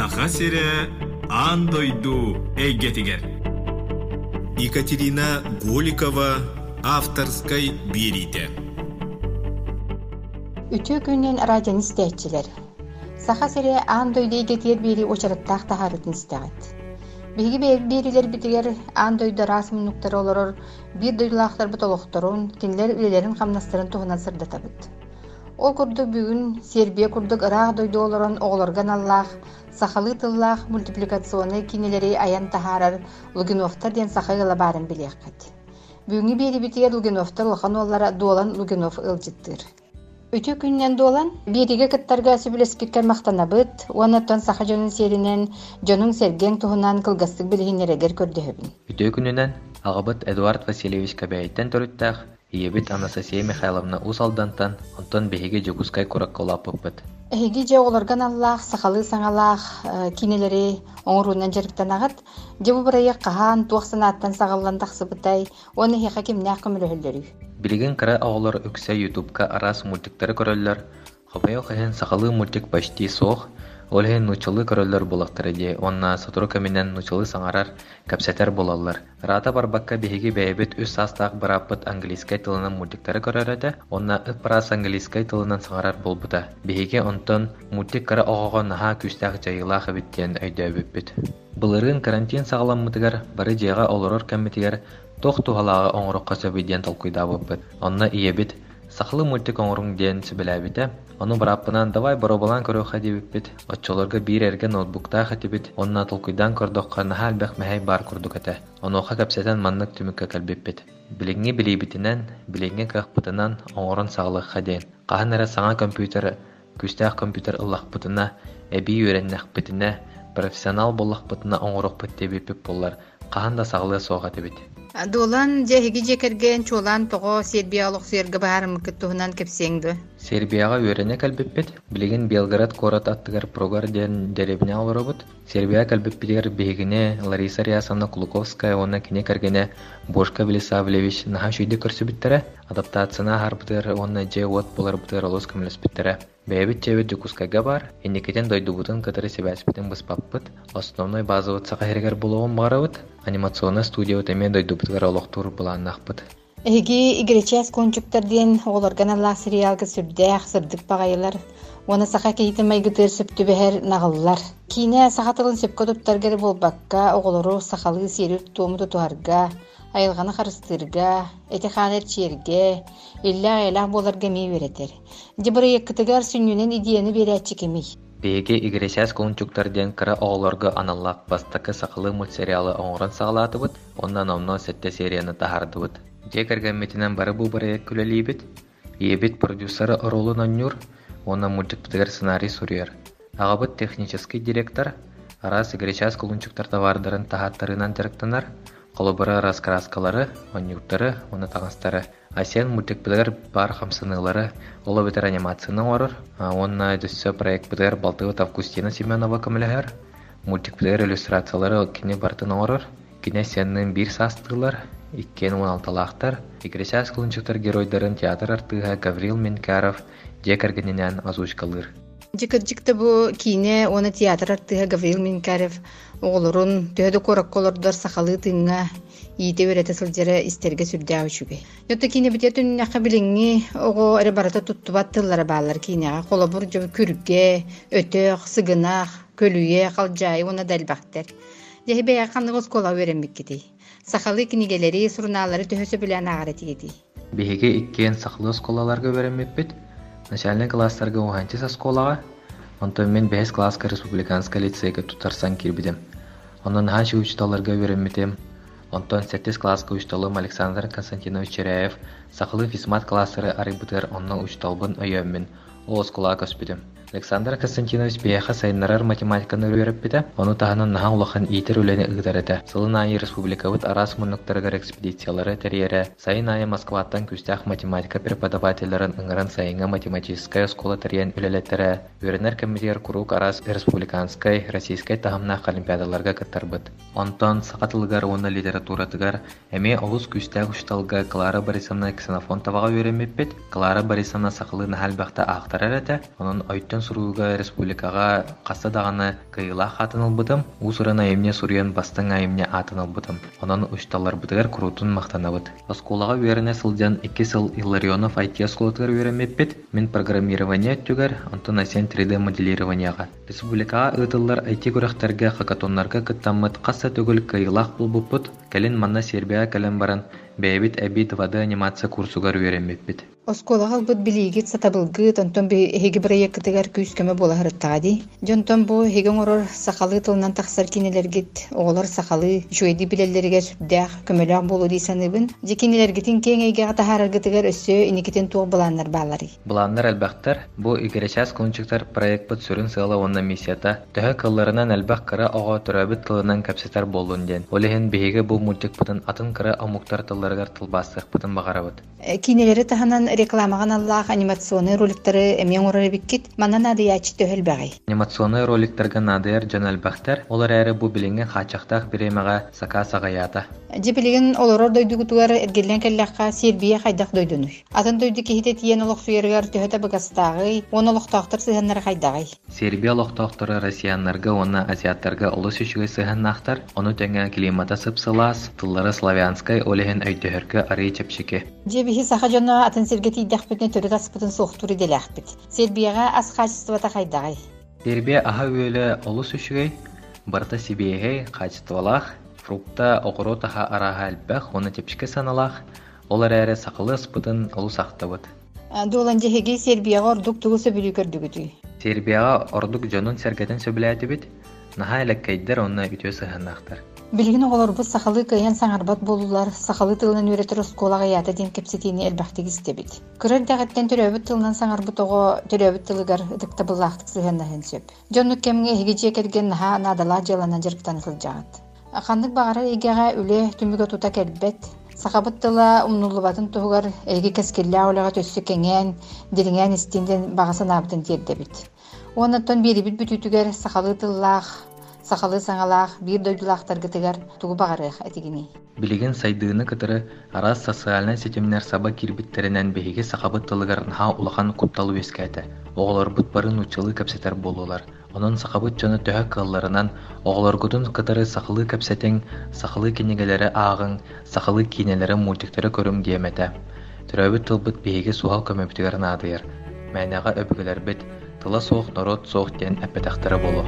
Саха сире андойду эйгетигер. Екатерина Голикова авторской берите. Үтө күннен радион истәтчилер. Саха сире андойду эйгетигер бери очараттақ тахарытын истәгет. Биги берилер битигер андойду расмынуктар олорор бир дойлақтар бутолокторун, кинлер үлелерин камнастырын туһунан сырдатабыт. Ол курдук бүгүн Сербия курдук ыраах дойду олорон оголорган аллах, сахалы тыллах мультипликационный кинелери аян тахарар Лугиновтар ден сахайла барын билияккат. Бүгүнги бери битигер Лугиновтар лохан оллара дуолан Лугинов ылжыттыр. Үтө күннен дуолан бириге кыттарга сүбүлескиккер мактанабыт, онотон саха жонун серинен жонун серген туһунан кылгастык билигинерегер көрдөһөбүн. Үтө күнүнен агабыт Эдуард Васильевич Кабяйттен төрүттәх, иебит Анастасия Михайловна Усалдантан, онтон беһиге жогускай куракколаппыт. Эһиги же олорган аллах, сахалы саңалах кинелери оңорунан жарыктанагат, жебу барайы кахан туаксанааттан сагаллан тахсыбытай, оны хеха кимнәк көмөлөһөллөрү. Билеген кыра оголор үксә ютубка арас мультиктары көрөллөр. Хобайо хен сахалы мультик почти сох, олхен нучылы көрөллөр булактары де, онна сатурука менен нучылы саңарар капсетер болалар. Рата барбакка беһиги бәйбит үс састак бараппыт английскай тылынан мультиктары көрөрөдө, онна ыппарас английскай тылынан саңарар болбута. Беһиги онтон мультик кыра огогон наха күстәк жайылах биттен өйдөбүппүт. Былырын карантин сагаламмытыгар бары жайга олорор кеммитигер тох тухалага оңорокка сөбүден толкуйдабыппыт. Онна иебит сахлы мультик оңоруң ден сөбүләбите. Onu barapпынан давай бороbolан көрөөхө дебиппит. Отчолорга бир эрге ноутбукта хатибит. Онна толкуйдан көрдөхкө нахалбек мэхэй бар курдук эте. Онуха капсетен маннык түмүккө кэлбиппит. Билиңи билибитинен, билиңи кахпытынан оңорон саглыкка дейин. Кахан эре саңа компьютер, күстәк компьютер ыллахпытына, эби үйреннэхпитине, профессионал боллахпытына оңорокпут дебиппит боллар. Кахан да саглы соога дебит. Долан жеһиги жекерген чолан того Сербиялык серге баарым кыттуһунан кепсеңди. Сербияга үйрәнә калбиппет. Билеген Белград город аттыгар прогар ден деребне алырыбыт. Сербия калбиппетер бегине Лариса Рясовна Кулуковская оны кине кергене Бошка Велисавлевич наха шүйде көрсөбүттере. Адаптацияна харбытыр оны же вот болар бутыр олос көмөлөспүттере. Бэбит чебет жукускайга бар. Эндикетен дойдубутун кытыры себәспитен быспаппыт. Основной базовый сахаргер болгон барыбыт. Анимационный студия темен дойдубутгар олоктур буланнакпыт. Эги игречас кончуктарден олорган аллах сериалга сүрдәх сырдык багайлар. Оны саха кейтемей гытыр сөптүбәһәр нагаллар. Кине сахатылын сөпкө туптаргер болбакка оголору сахалы серир тууму туарга, айылганы харыстырга, этеханер черге, илля элах боларга ми беретер. Жибыры якытыгар сүннүнен идеяны берәтчи кемей. Беге игречас кончуктарден кыра оголорга аналлак бастакы сахалы мультсериалы оңорон сагалатыбыт, оннан омно сетте серияны тахардыбыт. Жекерген метинен бары бу барая күлелибит. Иебит продюсеры ролу наннюр, онна мультиктер сценарий сурьер. Агабыт технический директор, арас игречас кулунчуктар товардарын тахаттарынан жарыктанар, колобара раскраскалары, оннюктары, оны тагастары. Асен мультиктер бар хамсынылары, олобитер анимацияны орыр, онна өсө проект битер Балтывыт Августина Семенова көмөлөһөр. Мультиктер иллюстрациялары кине бартын орыр, кине сеннин бир састылар. 2016-лақтар игречас кылынчыктар геройдарын театр артыга Гаврил Минкаров жекергенинен озвучкалыр. Жекержикте бу кине оны театр артыга Гаврил Минкаров оголорун төһөдө коракколордор сахалы тыңга ийте берете сылжары истерге сүрдәү чүге. Йотта кине битетүн нака билиңи ого эре барата туттубат тыллары баалар кинега колобур жөбү күргө, өтөк, сыгынак, көлүе, калжай оны далбактер. Жехибе яканныгыз кола беремик кити. Сахалы книгелери, сурналары төһөсө билен агарати еди. Беге иккен сахалы сколаларга беремеппит. Начальный класстарга уганчы сколага. Онтон мен 5 класска республиканска лицейге тутарсан кирбидем. Онон ханчы учталарга береметем. Онтон 7 класска учталым Александр Константинович Черяев сахалы физмат классары арыбытыр онно учталбын өйөммин. Ол сколага көспүдем. Александр Константинович бияха сайыннарар математиканы үйрөппите, оны таханын нахан улахан итер үлени ыгдарete. Сылын айы республикавыт арас мунуктарыгар экспедициялары терьере, сайын айы Москваттан күстях математика преподавательларын ыңыран сайынга математическая школа терьен үлелеттере, үйренер комитер курук арас республиканскай, российскай тахамнах олимпиадаларга каттарбыт. Онтон сақатылыгар оны литературатыгар, эме олус күстях ушталга Клара Борисовна Ксенофонтовага үйренмеппет, Клара Борисовна сақылы нахалбақта ақтар аттарарата, онун ойттон суруга республикага касса даганы кыйла хатынылбытым, усуран айымне суруян бастың айымне атынылбытым. Онун ушталар бытыгар курутун мактанабыт. Осколага верене сылдян 2 сыл Илларионов IT осколотгар веремеппит, мен программирование түгер, антон асен 3D моделированияга. Республикага ытыллар IT көрөктөргө хакатоннарга кыттаммыт касса төгүл кыйлах булбуппут, келин манна Сербия келен баран бэбит эбит вады анимация курсугар веремеппит. Осколага бут билигит сатабылгыт, онтон хеги проекттыгар күскөмө бола харыттагади. Жонтон бу хеген орор сакалы тылынан таксар кинелергит, оголор сакалы жойди билеллерге сүрдэх көмөлөк болу дисаныбын. Жекинелергитин кеңейге атахараргытыгар өссө иникитен туг буланнар баалары. Буланнар әлбәхтер, бу игерешәс кончуктар проект бут сүрүн сыла онна миссията, төһө кылларынан әлбәх кыра ого төрөбүт тылынан капсетар болдун ден. Олехен беге бу мультик бутын атын кыра амуктар тылларгар тылбасык бутын багарабыт. Кинелери таханан рекламаган аллах анимационный роликтары эмен орары биккит, манан адыячы төхөл бәгай. Анимационный роликтарга надыяр жан әлбәхтер, олар әрі бу билинген хачақтақ биремеға сака-сағаята. Жебилеген олорор дойдугутугар эргеллен келлакка Сербия хайдах дойдуну. Атын дойду кихите тиен олох суергар төһөтө быгастагы, он олохтактар сыһаннар хайдагай. Сербия олохтактары россияннарга, оны азиаттарга олос үшүгө сыһаннахтар, оны төңө климата сыпсылас, тыллары славянскай олехен өйдөһөргө ары чепшике. Жебихи саха жона атын сергети иддахпытын төрөт аспытын соқтуры делахпыт. Сербияга аз качествата хайдагай. Сербия аха өөлө олос үшүгөй, барта сибиэхэй качествалах, фрукта окоротаха араха әлбәх, оны тепшике саналах, олар әрі сақылы спытын олу сақтабыт. Долан жехеге Сербияга ордук тугу сөбүлүү көрдүгүтүй. Сербияга ордук жонун сергетен сөбүләті бит, наха элеккейдер онна үтө сыһаннахтар. Билген оголорбут сахалы кыян саңарбат болулар, сахалы тылынан үйретер осколага ята ден кепсетини элбахтык истебит. Кырар дагаттен төрөбүт тылынан саңарбут ого төрөбүт тылыгар ыдыктабыллахтык сыһаннаһын сөп. Жоннук кемге хигиче керген наха надала жалана жарктан сылжагат. Акандык багара игега үле түмүгө тута келбет. Сахабыт тыла умнулубатын тугар эги кескелле олага төссү кеңен, диринген истинден багасын абытын тердебит. Онаттан берибит бүтүтүгер сахалы тыллах, сахалы саңалах, бир дойдулахтарга тыгар тугу багарых этигини. Билеген сайдыыны кытыры арас социальный сетемнер саба кирбиттеринен беһиги сахабыт тылыгар наха улахан купталу эскәте. Оголор бут барын учылы капсетер болулар. Онун сахабыт жоны төһө кылларынан оголоргутун кытыры сахалы капсетең, сахалы кенегелери агың, сахалы кинелери мультиктери көрүм диемете. Төрөбүт тылбыт беһиги суал көмөптүгөр надыйыр. Мәнага өбүгөлөр бит тыла соох народ соох ден эпетактары болу.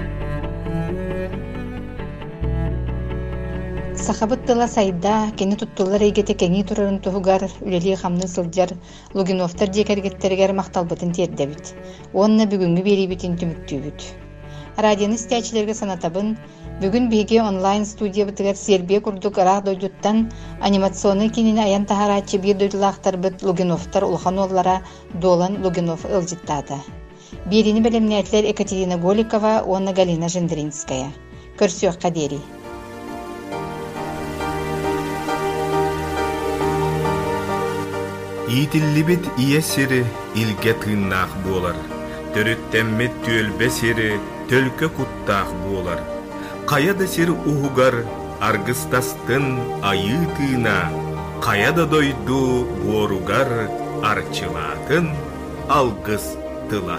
Сахабыт тыла сайда, кені туттулар егете кеңи турарын туһугар, үлели хамны сылжар, лугиновтар декергеттергер мақталбытын тердебит. Онна бүгүнгү берибитин түмүктүүбүт. Радионы стячилерге санатабын, бүгүн биге онлайн студия бытыгар Сербия курдук арак дойдуттан анимационный кинини аян тахарачы бир дойдулахтар быт лугиновтар улхан оллара Долан Лугинов ылжыттаата. Берини белемнетлер Екатерина Голикова, онна Галина Жендринская. Көрсөк кадери. Итиллибит ие сири илге тыыннаах буолар. Төрүттэммет түөлбе сири төлкө куттаах буолар. Каяда сир уһугар аргыстастын айы тыына. Каяда дойду буоругар арчылаатын алгыс тыла.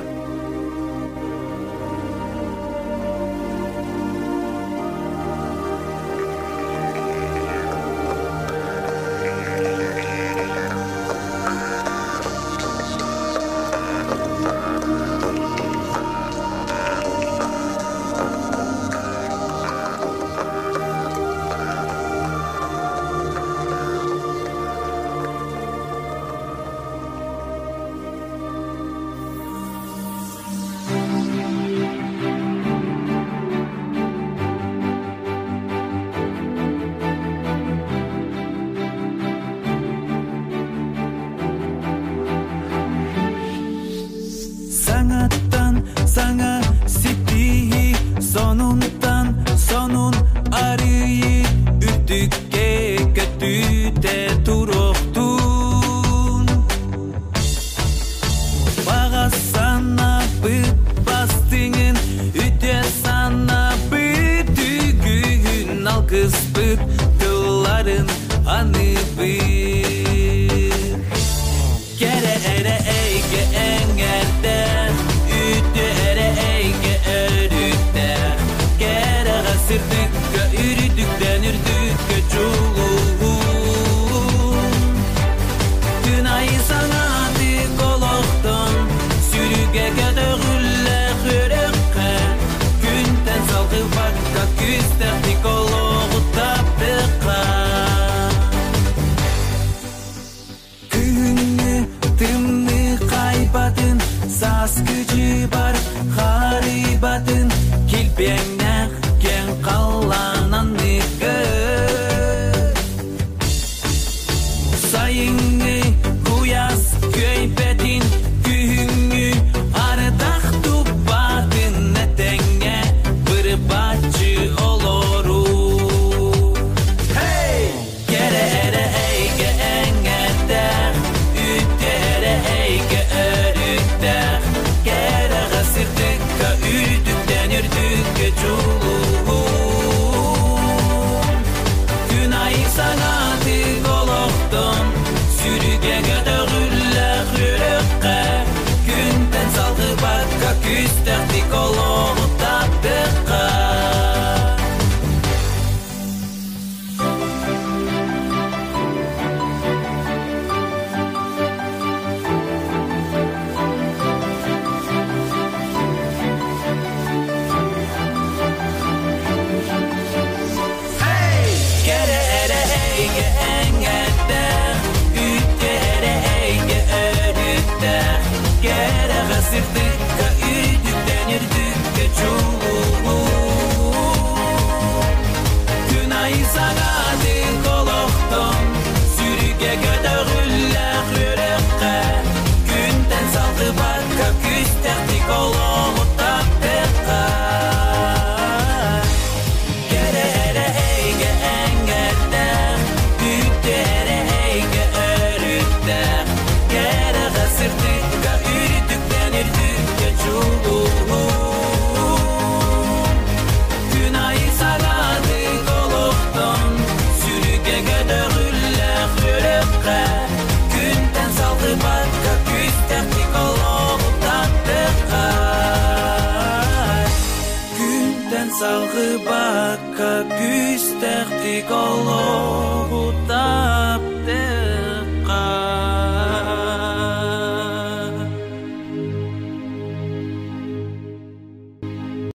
Saz gücü var haribatın kilpeğine gen kallanan nıgır sayını kuyas köybetin gühüngü ardak tupatın netenge bir bahçı oloru hey gere ere eyge engette ütere eyge örütte gere gasırdıkka ürdükten ürdükke çuluğum günay sana tıgoloğdum sürüge gödöğülle hürükke günden salgı bakka küster tıgoloğu tapıkka gere ere eyge engette ütere eyge örütte gere gasırdıkka ürdükten ürdükke çuluğum günay sagadı koloğdum sürüge gödöğülle hürükke günden salgı bakka küsterdi koloğu tapıkka gere ere eyge engette ütere eyge örütte gere gasırdıkka ürdükten ürdükke çuluğum günay sagadı koloğdum sürüge gödöğülle hürükke günden salgı bakka küsterdi koloğu tapıkka günden salgı bakka küsterdi koloğu